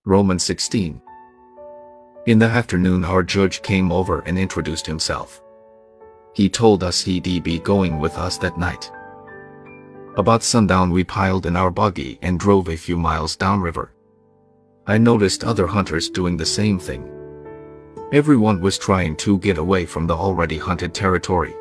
Romans 16. In the afternoon our judge came over and introduced himself. He told us he'd be going with us that night. About sundown we piled in our buggy and drove a few miles downriver. I noticed other hunters doing the same thing. Everyone was trying to get away from the already hunted territory.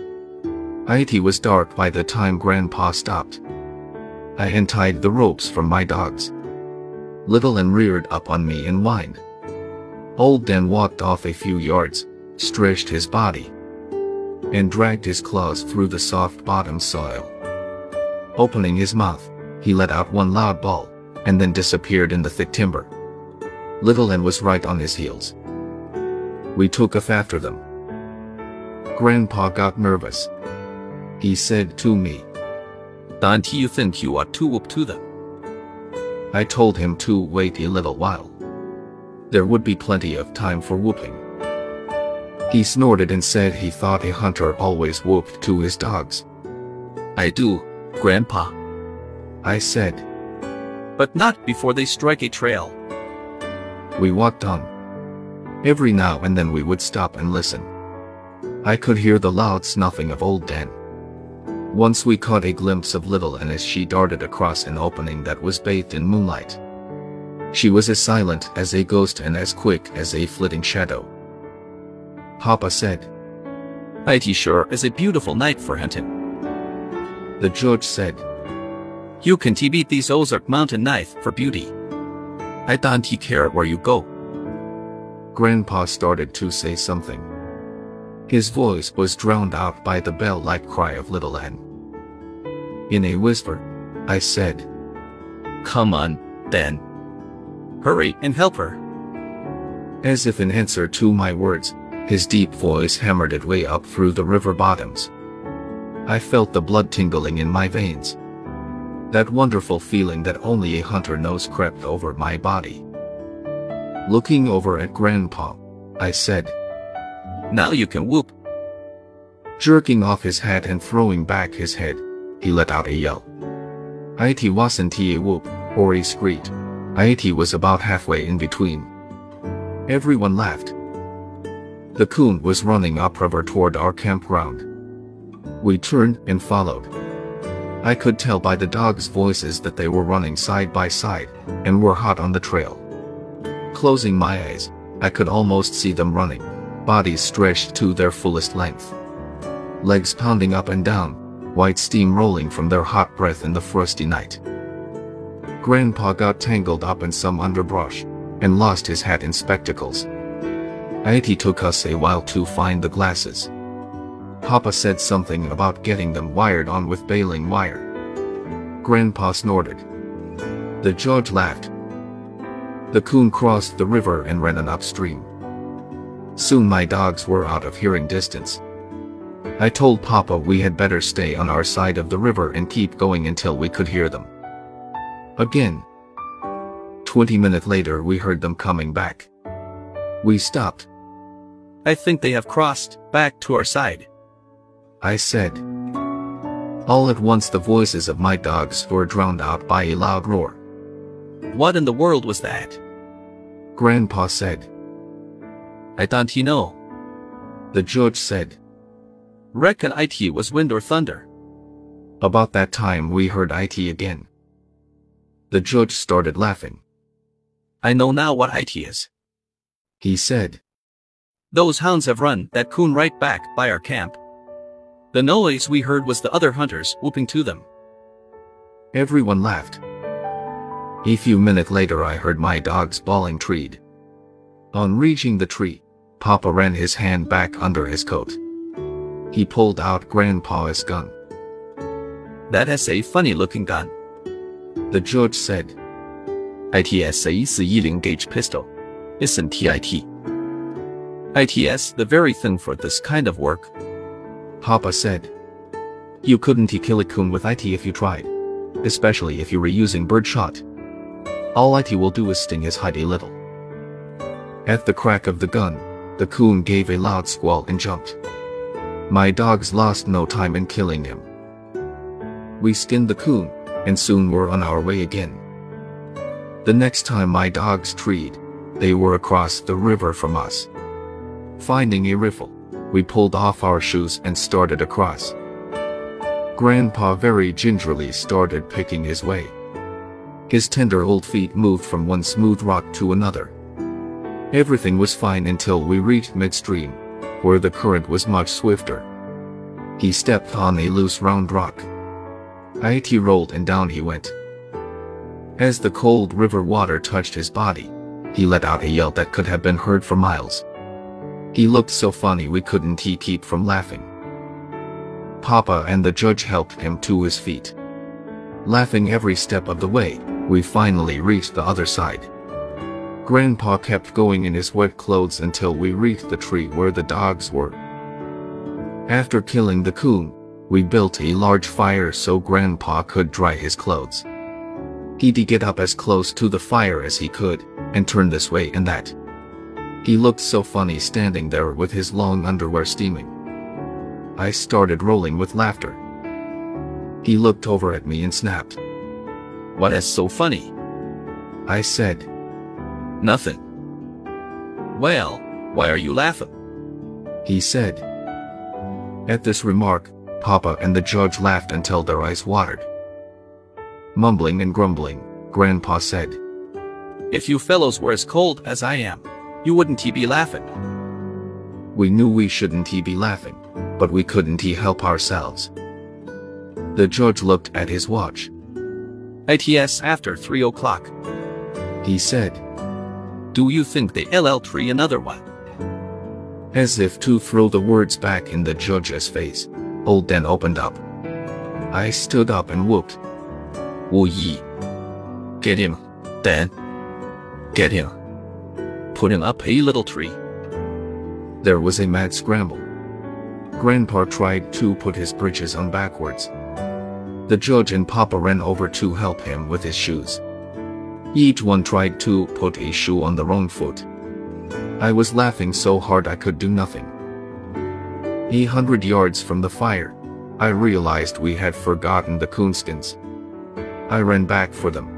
It was dark by the time Grandpa stopped. I untied the ropes from my dogs. Little and reared up on me and whined. Old Dan walked off a few yards, stretched his body, and dragged his claws through the soft bottom soil. Opening his mouth, he let out one loud bawl, and then disappeared in the thick timber. Little N was right on his heels. We took off after them. Grandpa got nervous. He said to me, "Don't you think you ought to whoop to them?" I told him to wait a little while. There would be plenty of time for whooping. He snorted and said he thought a hunter always whooped to his dogs. "I do, Grandpa," I said. "but not before they strike a trail." We walked on. Every now and then we would stop and listen. I could hear the loud snuffing of old Dan. Once we caught a glimpse of Little N as she darted across an opening that was bathed in moonlight. She was as silent as a ghost and as quick as a flitting shadow. Papa said, "It sure is a beautiful night for hunting." The judge said, "You can beat these Ozark Mountain nights for beauty. I don't care where you go." Grandpa started to say something. His voice was drowned out by the bell-like cry of Little N. In a whisper, I said, "Come on, Dan. Hurry and help her." As if in answer to my words, his deep voice hammered its way up through the river bottoms. I felt the blood tingling in my veins. That wonderful feeling that only a hunter knows crept over my body. Looking over at Grandpa, I said, "Now you can whoop." Jerking off his hat and throwing back his head, he let out a yell. It wasn't a whoop or a screech. It was about halfway in between. Everyone laughed. The coon was running upriver toward our campground. We turned and followed. I could tell by the dogs' voices that they were running side by side and were hot on the trail. Closing my eyes, I could almost see them running, bodies stretched to their fullest length. Legs pounding up and down, white steam rolling from their hot breath in the frosty night. Grandpa got tangled up in some underbrush and lost his hat and spectacles. It took us a while to find the glasses. Papa said something about getting them wired on with baling wire. Grandpa snorted. The judge laughed. The coon crossed the river and ran on upstream. Soon my dogs were out of hearing distance. I told Papa we had better stay on our side of the river and keep going until we could hear them. Again. 20 minutes later we heard them coming back. We stopped. "I think they have crossed back to our side," I said. All at once the voices of my dogs were drowned out by a loud roar. "What in the world was that?" Grandpa said. "I don't know." The judge said. "Reckon it was wind or thunder." About that time we heard it again. The judge started laughing. "I know now what it is," he said. "Those hounds have run that coon right back by our camp. The noise we heard was the other hunters whooping to them." Everyone laughed. A few minutes later I heard my dogs bawling treed. On reaching the tree, Papa ran his hand back under his coat. He pulled out Grandpa's gun. "That is a funny-looking gun," the judge said. "It is a 110 gauge pistol, isn't it?" "It is the very thing for this kind of work," Papa said. "You couldn't kill a coon with it if you tried, especially if you were using birdshot. All it will do is sting his hide a little." At the crack of the gun, the coon gave a loud squall and jumped. My dogs lost no time in killing him. We skinned the coon, and soon were on our way again. The next time my dogs treed, they were across the river from us. Finding a riffle, we pulled off our shoes and started across. Grandpa very gingerly started picking his way. His tender old feet moved from one smooth rock to another. Everything was fine until we reached midstream, where the current was much swifter. He stepped on a loose round rock. It rolled and down he went. As the cold river water touched his body, he let out a yell that could have been heard for miles. He looked so funny we couldn't keep from laughing. Papa and the judge helped him to his feet. Laughing every step of the way, we finally reached the other side. Grandpa kept going in his wet clothes until we reached the tree where the dogs were. After killing the coon, we built a large fire so Grandpa could dry his clothes. He'd get up as close to the fire as he could, and turn this way and that. He looked so funny standing there with his long underwear steaming. I started rolling with laughter. He looked over at me and snapped. "What is so funny?" I said. "Nothing." "Well, why are you laughing?" he said. At this remark, Papa and the judge laughed until their eyes watered. Mumbling and grumbling, Grandpa said, "If you fellows were as cold as I am, you wouldn't be laughing." We knew we shouldn't be laughing, but we couldn't help ourselves. The judge looked at his watch. "It's after 3 o'clock. he said. Do you think they'll tree another one?" As if to throw the words back in the judge's face, Old Dan opened up. I stood up and whooped. "Wu Yi. Get him, Dan. Get him. Put him up a little tree." There was a mad scramble. Grandpa tried to put his britches on backwards. The judge and Papa ran over to help him with his shoes. Each one tried to put a shoe on the wrong foot. I was laughing so hard I could do nothing. 100 yards from the fire, I realized we had forgotten the coonskins. I ran back for them.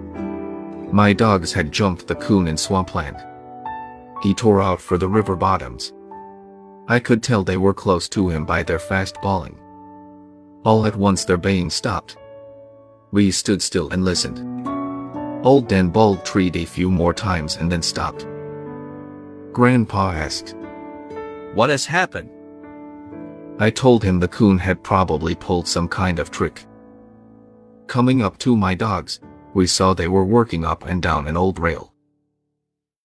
My dogs had jumped the coon in swampland. He tore out for the river bottoms. I could tell they were close to him by their fast bawling. All at once their baying stopped. We stood still and listened. Old Dan bawled treed a few more times and then stopped. Grandpa asked, "What has happened?" I told him the coon had probably pulled some kind of trick. Coming up to my dogs, we saw they were working up and down an old rail.